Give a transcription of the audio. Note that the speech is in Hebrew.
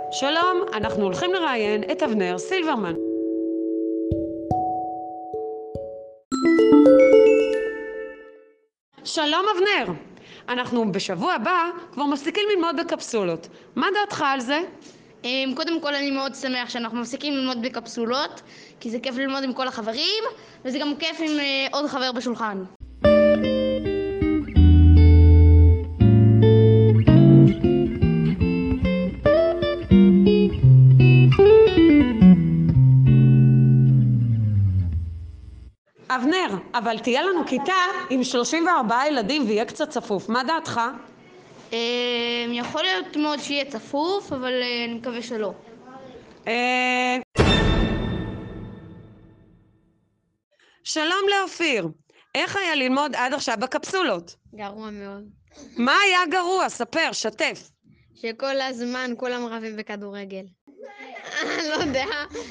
שלום, אנחנו הולכים לראיין את אבנר סילברמן. שלום אבנר, אנחנו בשבוע הבא כבר מפסיקים ללמוד בקפסולות. מה דעתך על זה? קודם כל אני מאוד שמח שאנחנו מפסיקים ללמוד בקפסולות, כי זה כיף ללמוד עם כל החברים, וזה גם כיף עם עוד חבר בשולחן. אבנר, אבל תהיה לנו כיתה עם 34 ילדים ויהיה קצת צפוף. מה דעתך? יכול להיות מאוד שיהיה צפוף, אבל אני מקווה שלא. שלום לאופיר, איך היה ללמוד עד עכשיו בקפסולות? גרוע מאוד. מה היה גרוע? ספר, שתף. שכל הזמן כולם רבים בכדורגל. לא יודע.